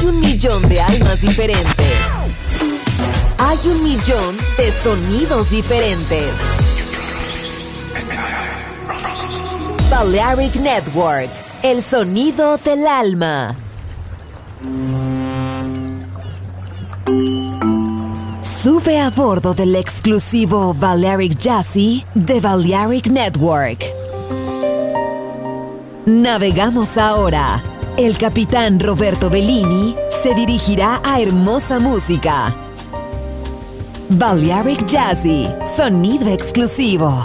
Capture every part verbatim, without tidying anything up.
un millón de almas diferentes. Hay un millón de sonidos diferentes. Balearic Network, el sonido del alma. Sube a bordo del exclusivo Balearic Jazzy de Balearic Network. Navegamos ahora. El capitán Roberto Bellini se dirigirá a hermosa música. Balearic Jazzy, sonido exclusivo.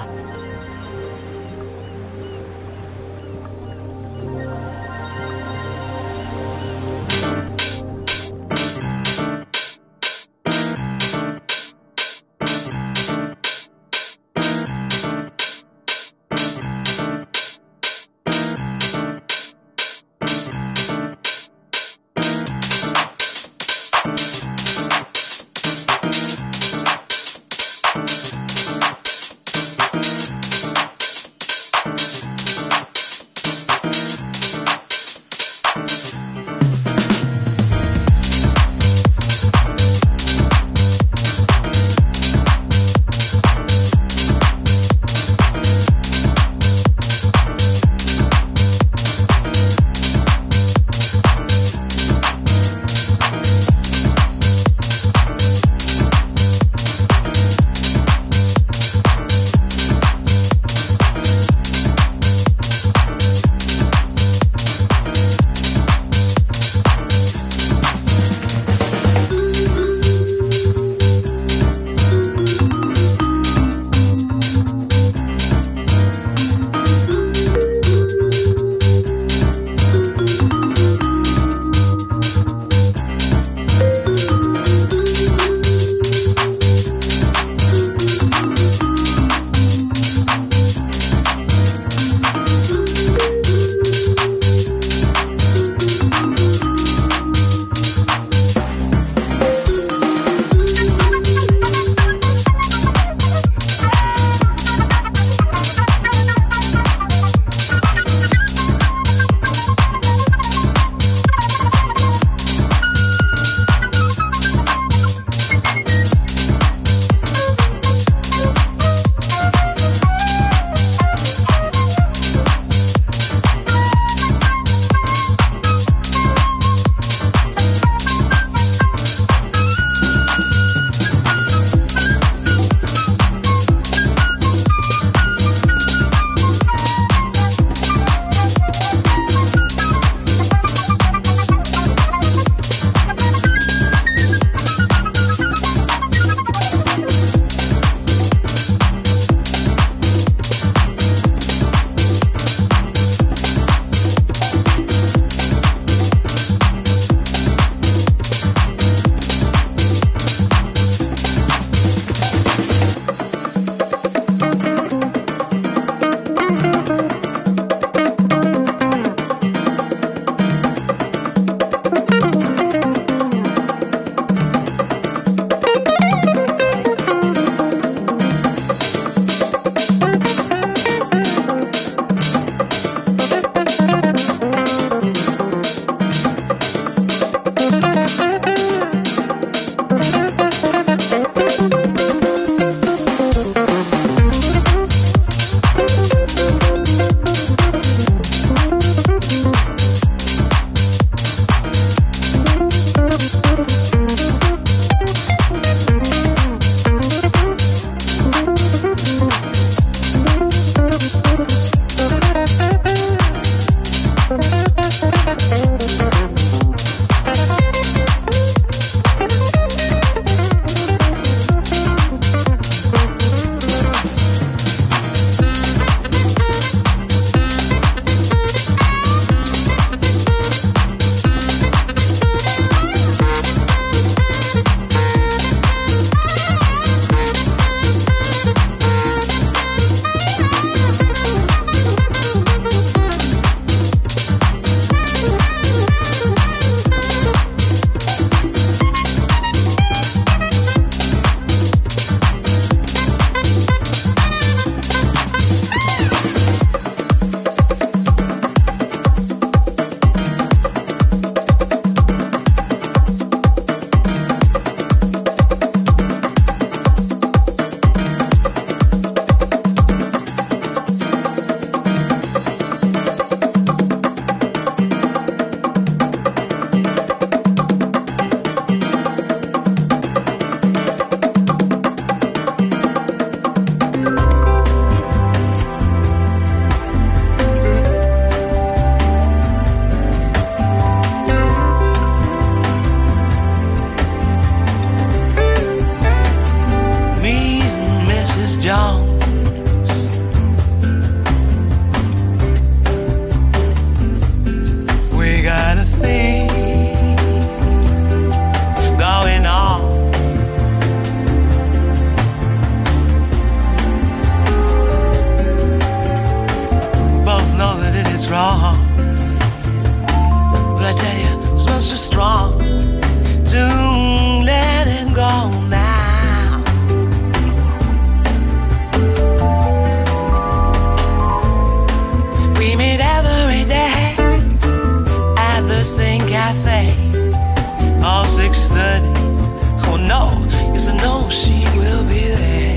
cafe. All six thirty. Oh no, yes I know she will be there.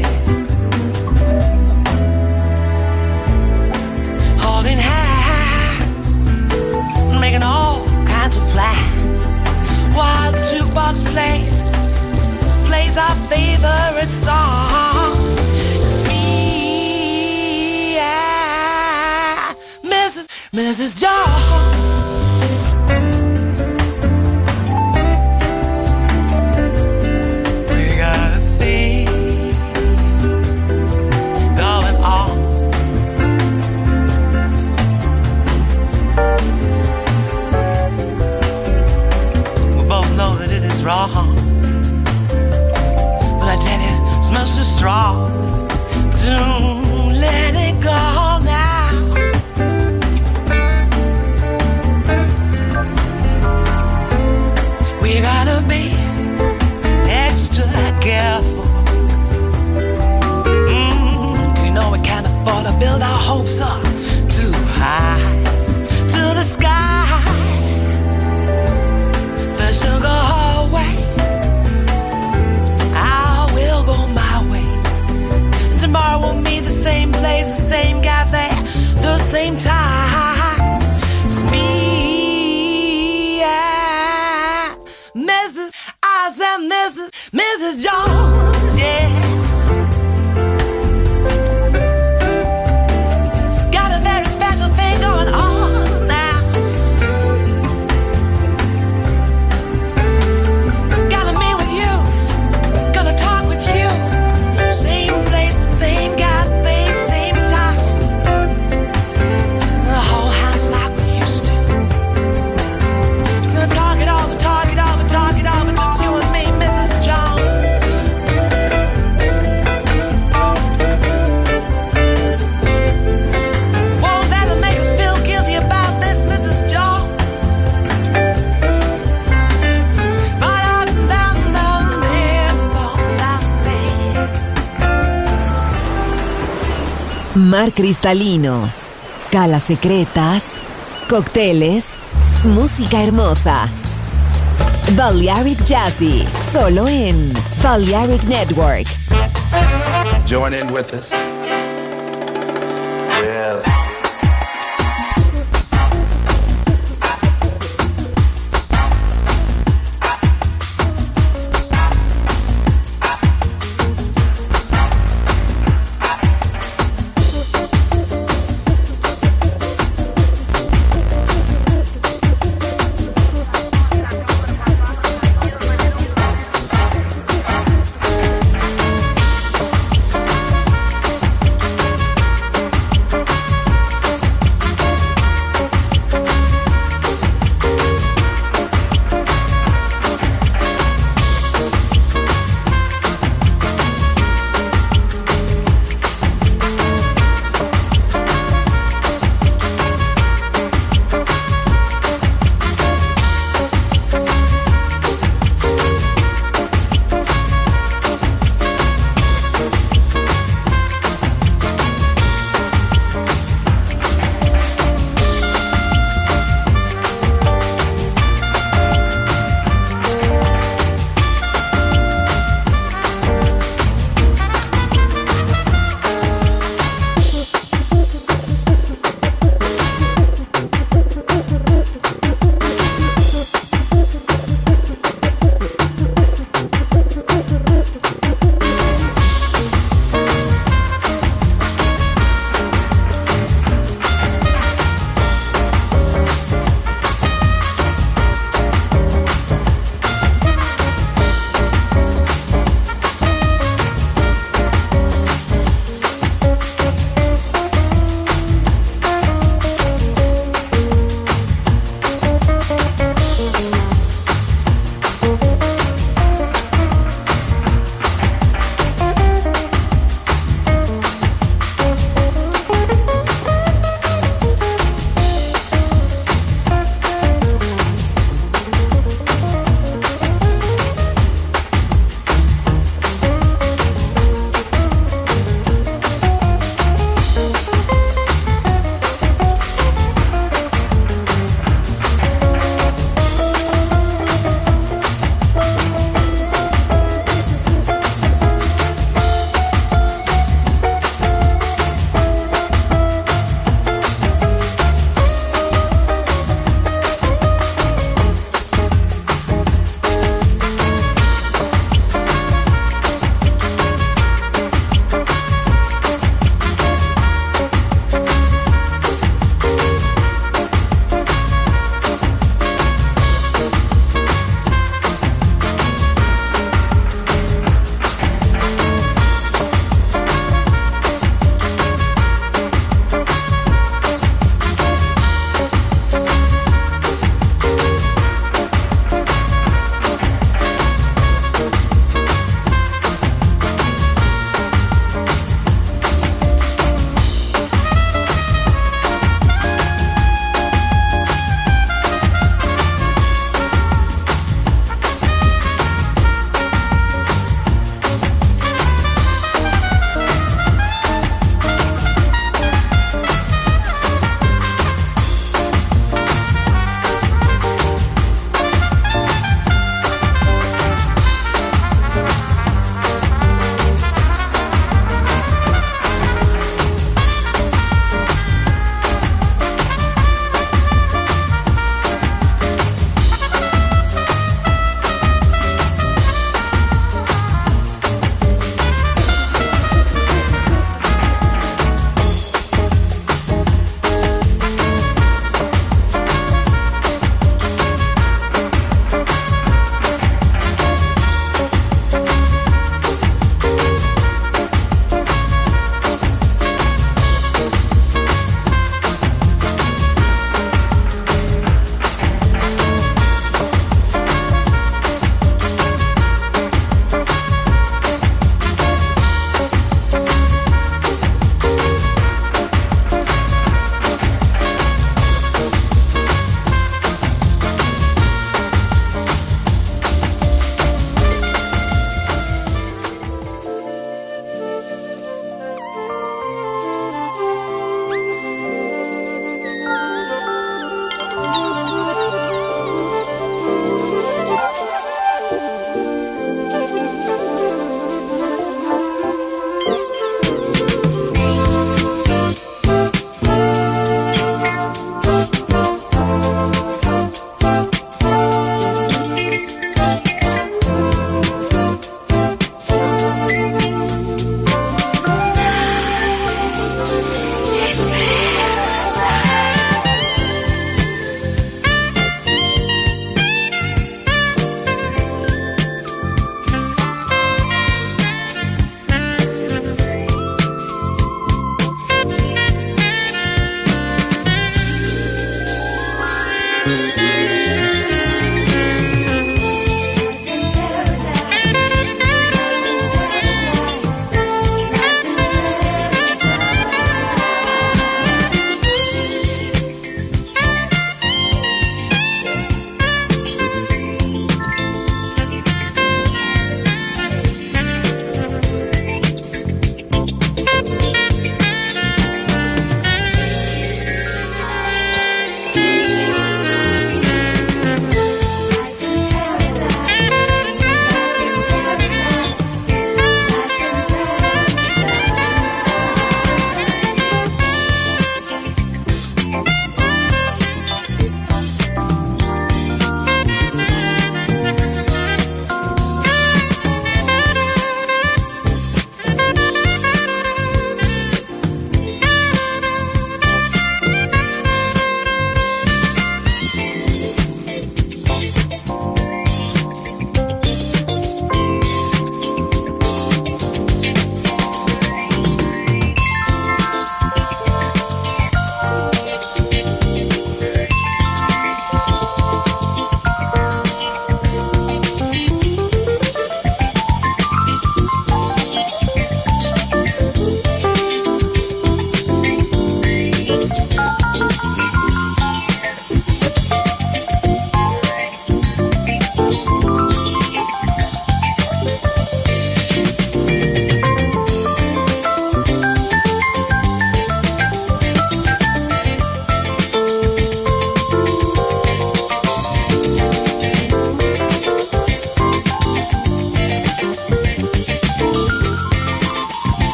Holding hands, making all kinds of plans, while the jukebox plays, plays our favorite song. It's me, yeah, Missus Missus Jones. Wrong, but I tell you, it smells so strong. Don't let it go now. We gotta be extra careful, mm, 'cause you know we can't afford to build our hopes up too high to the sky. The sugar tomorrow we'll meet the same place, the same cafe, the same time. It's me, yeah, Missus I said Missus Missus Jones, yeah. Got a very special thing going on now. Gotta meet with you, gonna talk with you. Same place, same cafe, same time. The whole house like we used to. Gonna talk it over, talk it over, talk it over. Just you and me, Missus Jones. Won't let them make us feel guilty about this, Missus Jones. Mar cristalino, calas secretas, cócteles, música hermosa. Balearic Jazzy, solo en Balearic Network. Join in with us. Yes.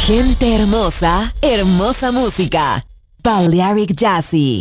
Gente hermosa, hermosa música. Balearic Jazzy.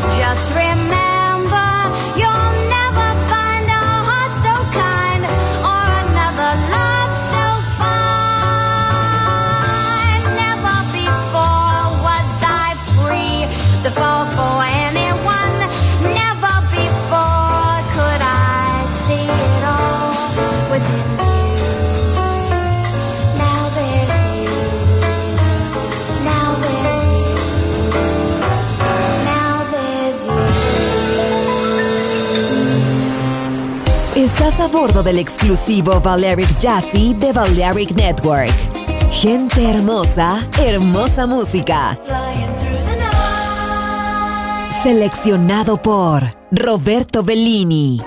Remember, you'll never find a heart so kind. to fall for anyone. Never before could I see it all within you. Now there's you. Now there's you. Now there's you. Estás a bordo del exclusivo Balearic Jazzy de Balearic Network. Gente hermosa, hermosa música. Seleccionado por Roberto Bellini.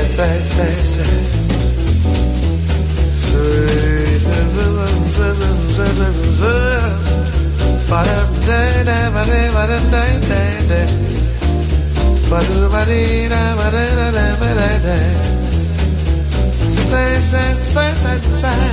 say, say, say. Say, say, say, say, say.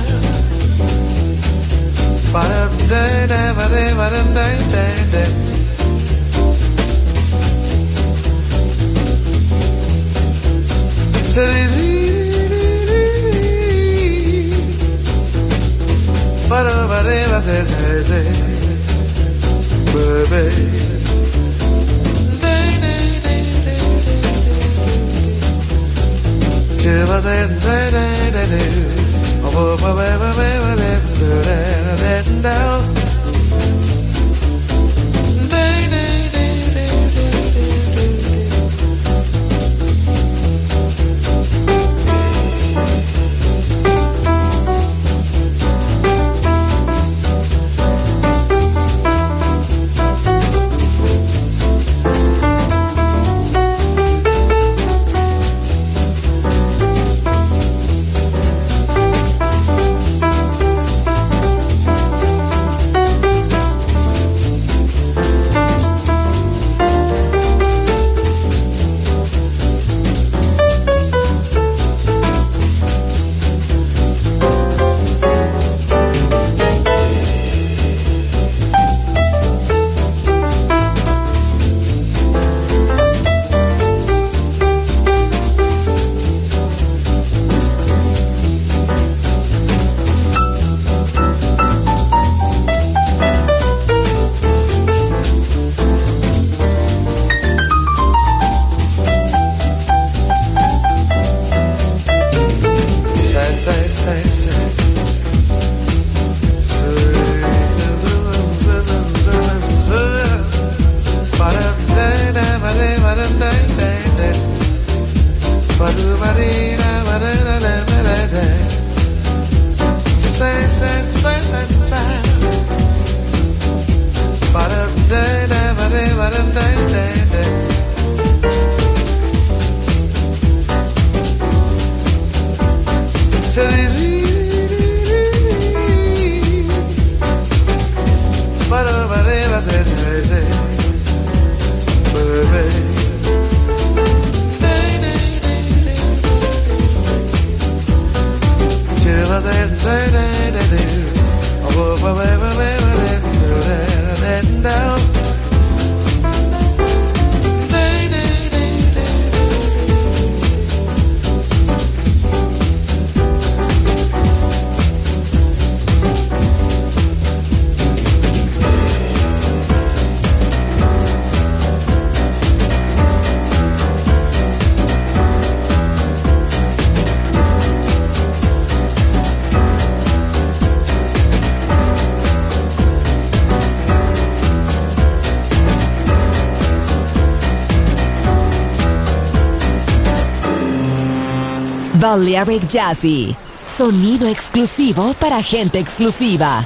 Balearic Jazzy, sonido exclusivo para gente exclusiva.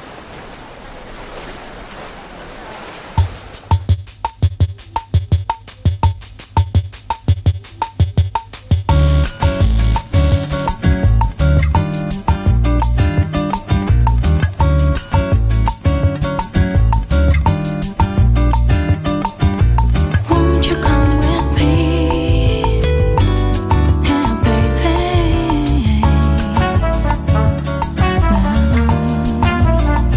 Now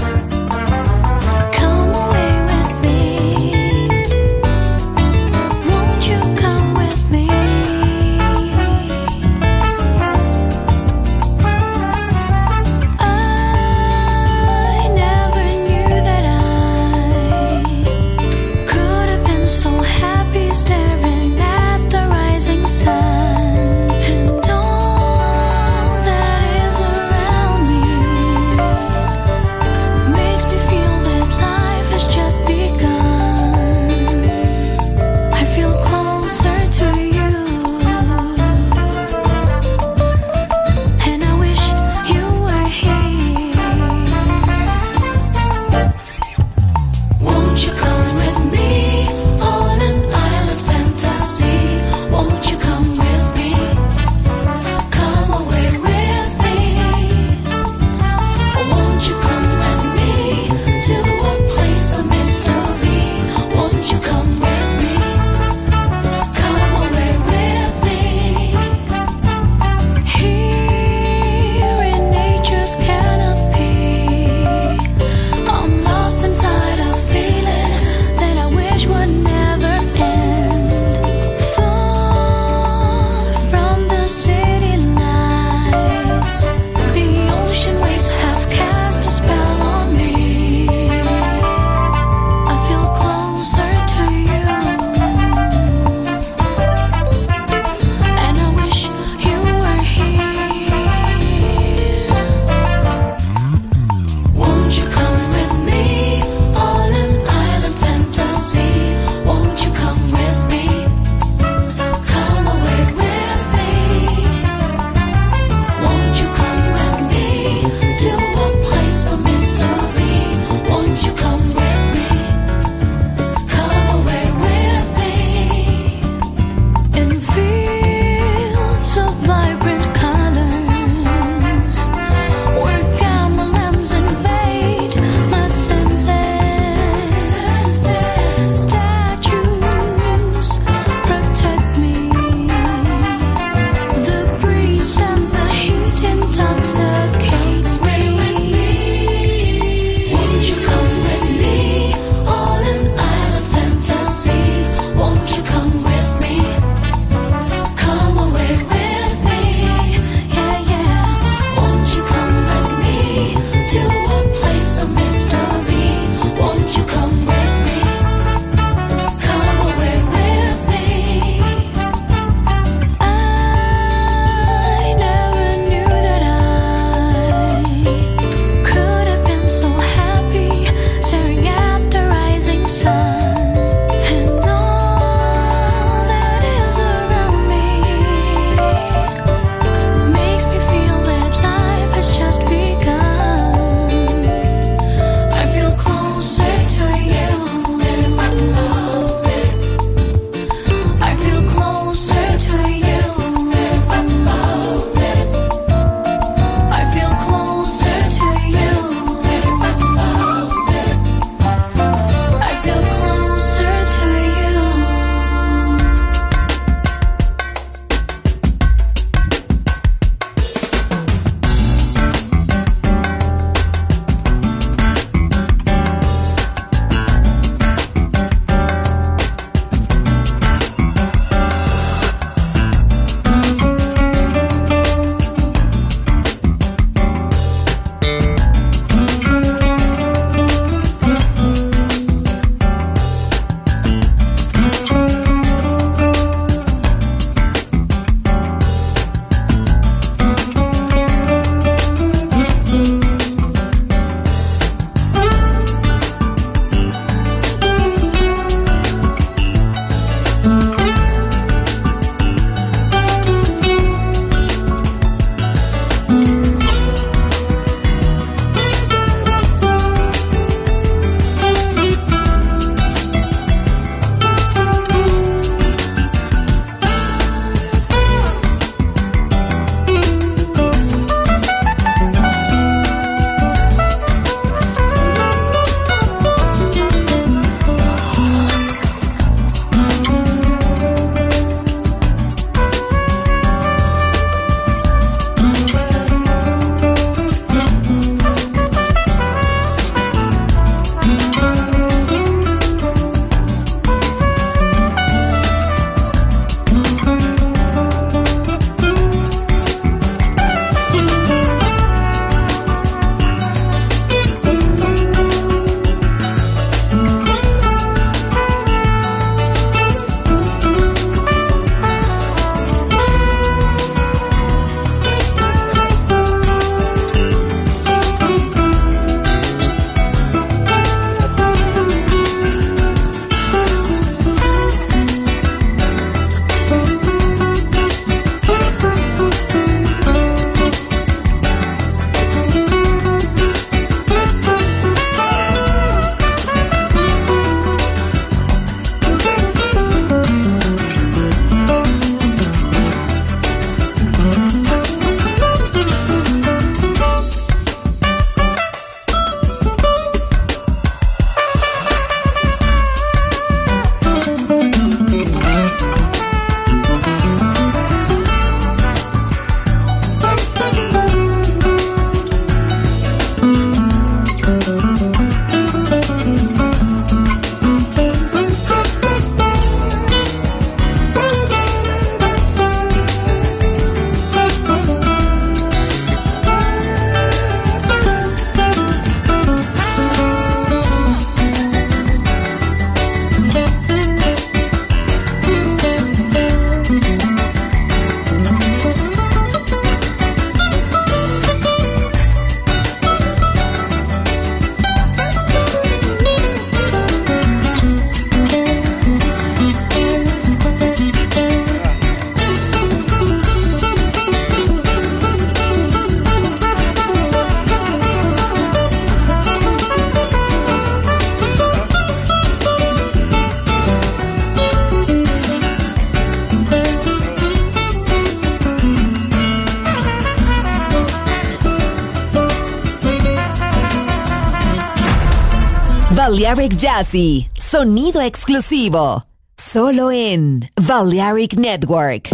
Balearic Jazzy, sonido exclusivo, solo en Balearic Network.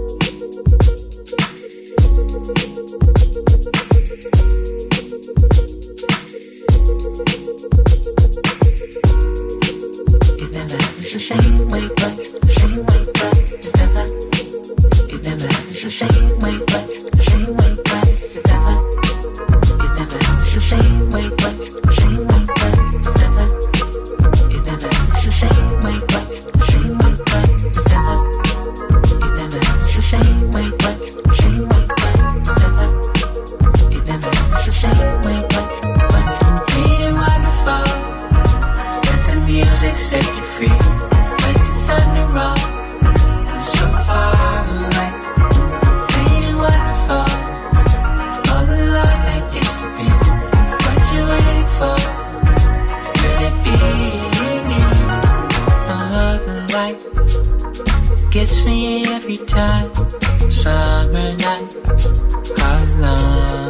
It's the same way, but same way, but it never. It never. It's the same way, but same way, but it never. It never. It's the same way, but same way, but it never. It never. It's the same way, but same way, but it never. It never. It's the same way, but same way, but it never. It never. It's the same way, but but ain't it wonderful that the music set you free? Thunder roll so far away. Ain't it wonderful? All the love that used to be. What you waiting for? Could it be me? All of the light gets me every time. Summer nights are long.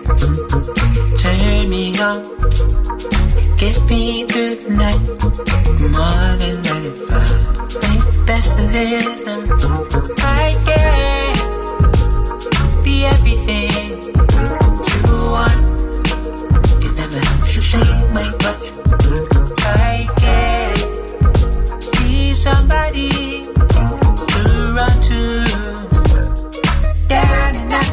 Turn me on, get me through the night. More than let it fly. Make the best of it. I can be everything you want. It never happens the same way, but I can be somebody to run to. Down and out.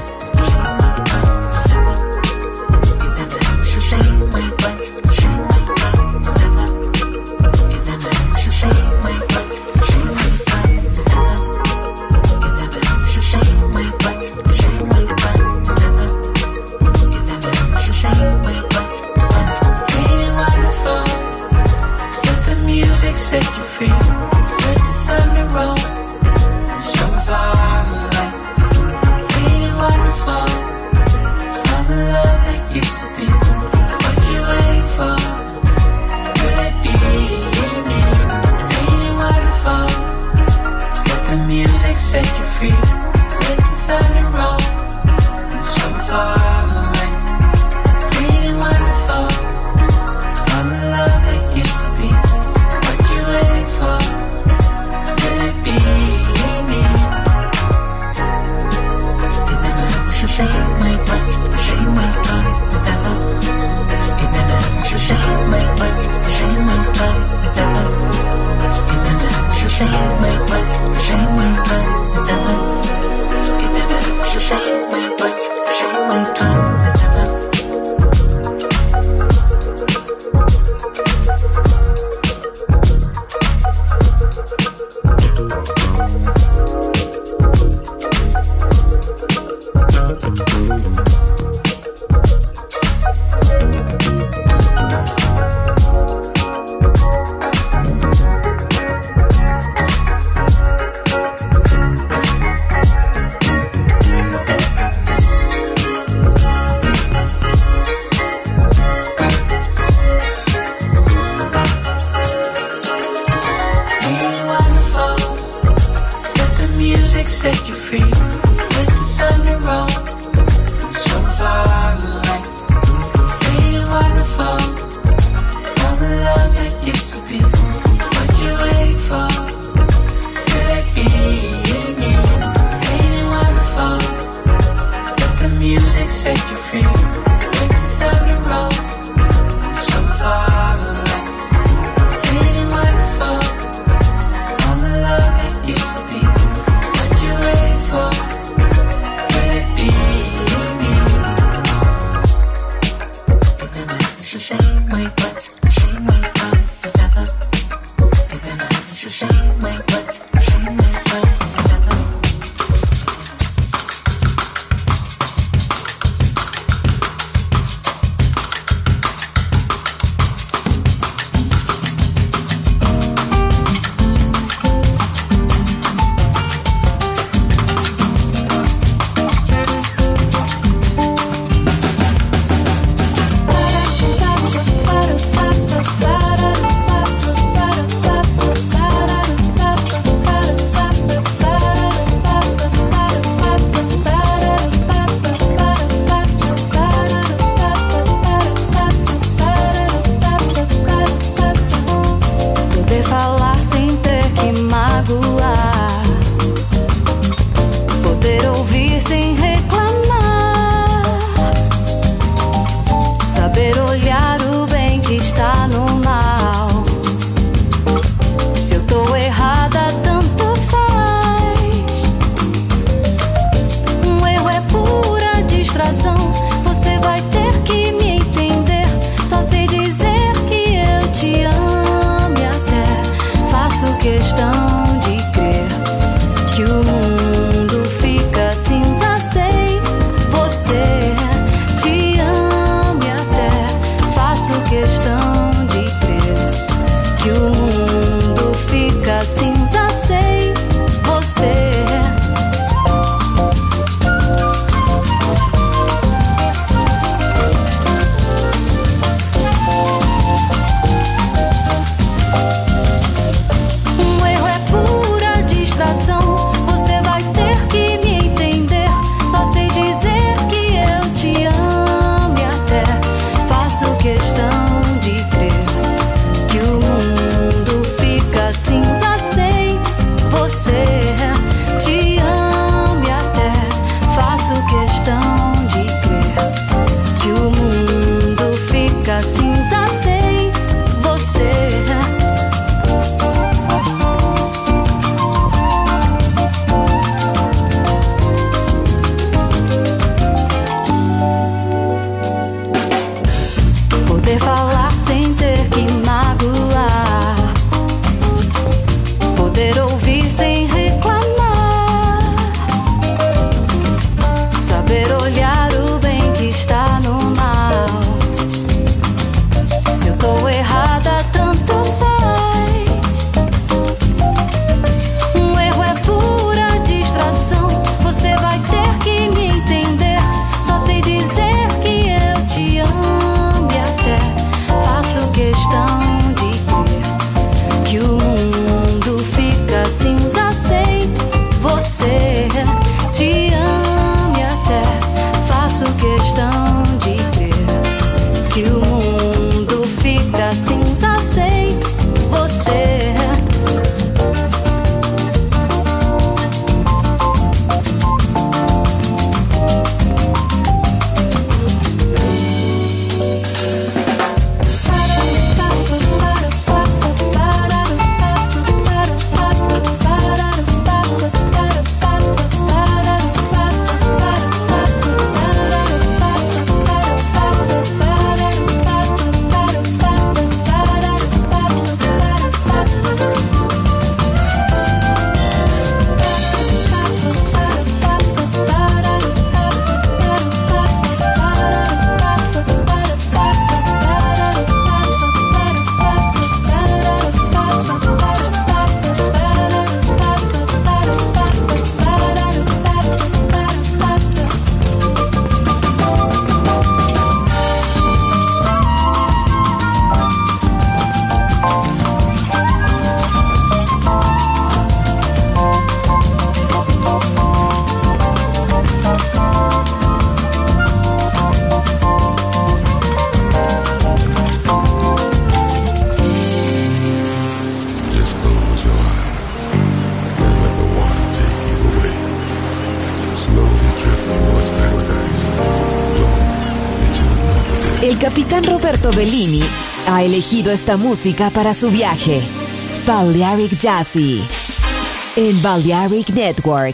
It never happens the same way, but same way, but never. It never happens the same way, but same way, but never. It never happens the same way, but same way, but never. It never happens the same way, but but ain't it wonderful? Let the music set you free. Let the thunder roll so far away. Ain't it wonderful? All the love that used to be. What you waiting for? Could it be me? Ain't it wonderful? Let the music set you free. Let the thunder roll so far away. Ain't it wonderful? All the love that used to be. What you waiting for? Could it be me? It never happens the same way, but the same way, but it never. It never happens the same way, but the same way, but it never. It never happens the same way, but the same way, but it never. It never happens the same way, but the same way, but it never. Set you free, let the thunder roll so far away. Ain't it wonderful? All the love that used to be. What you waiting for? Could it be me? Ain't it wonderful? Let the music set you free. Let the thunder roll so far away. Ain't it wonderful? All the love that used to be. For, could it be me? It never happens the same way, but the same way, but it never. It never happens the same way, but the same way, but it never. questão de crer que o mundo fica cinza sem você. Poder falar sem ter que magoar, poder ouvir sem reclamar, saber olhar o bem que está no mal. Se eu tô errada, tanto faz. Um erro é pura distração. Você vai ter que me entender. Só sei dizer que eu te amo e até faço questão de crer que o mundo fica cinza sem você. Te amo e até faço questão de crer que o mundo fica cinza sem você. El capitán Roberto Bellini ha elegido esta música para su viaje. Balearic Jazzy en Balearic Network.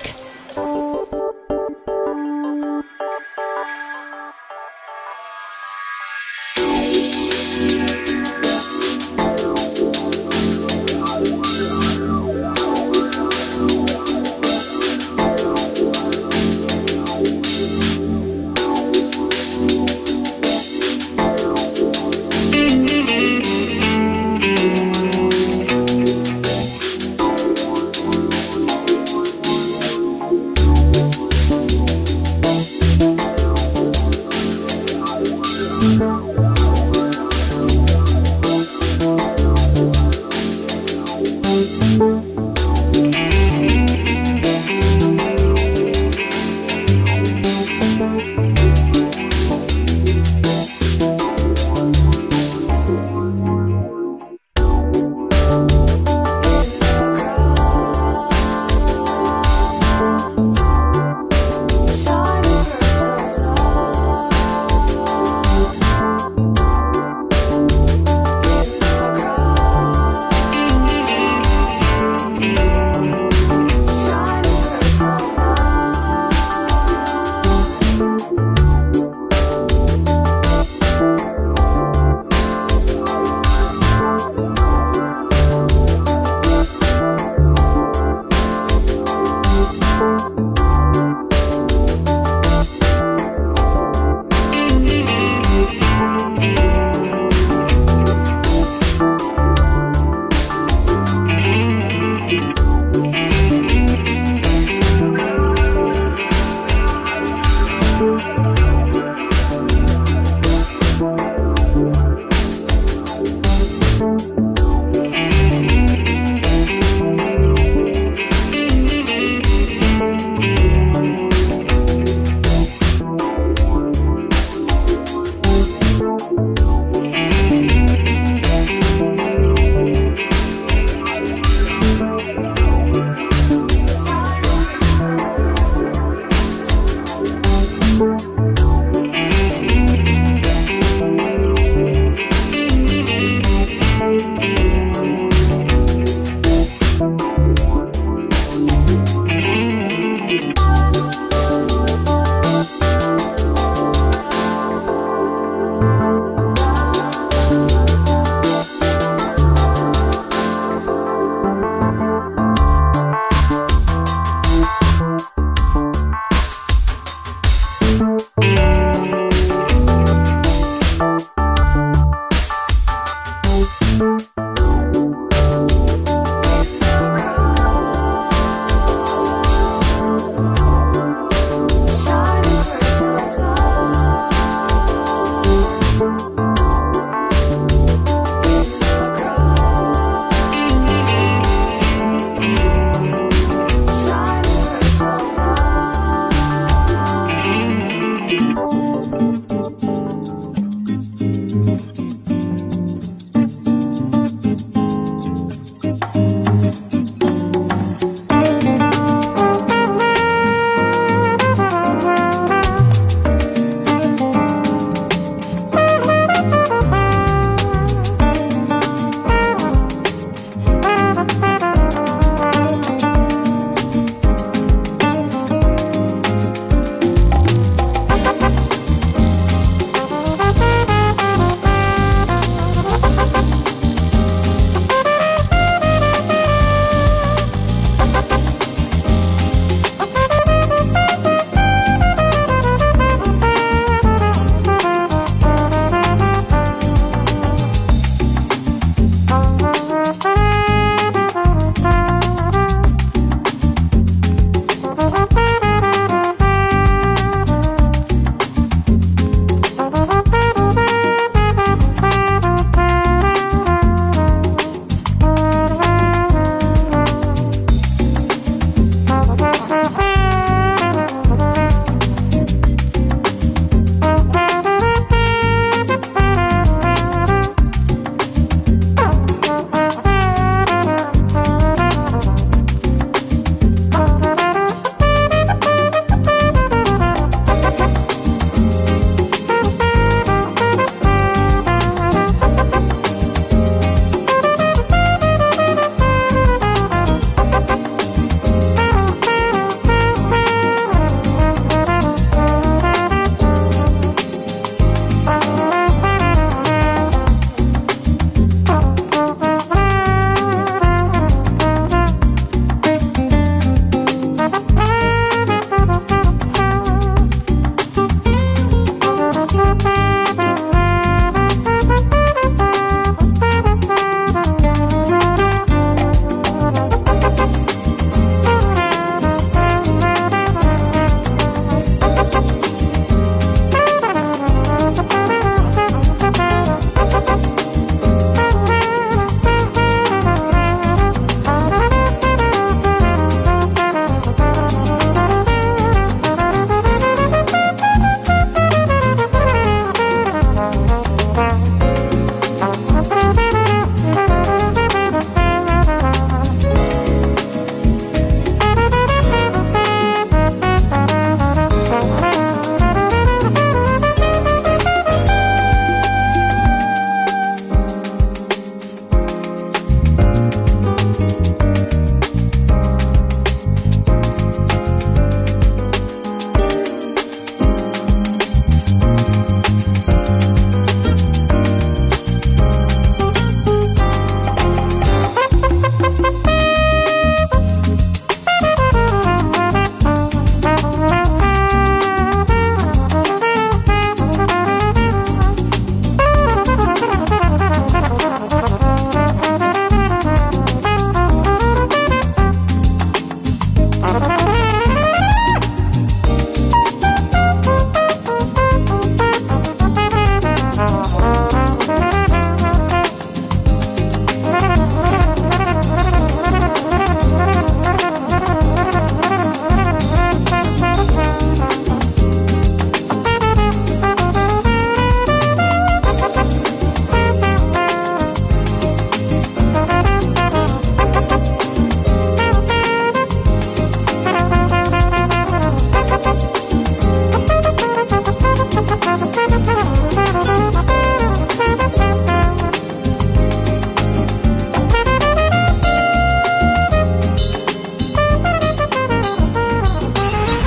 Bye.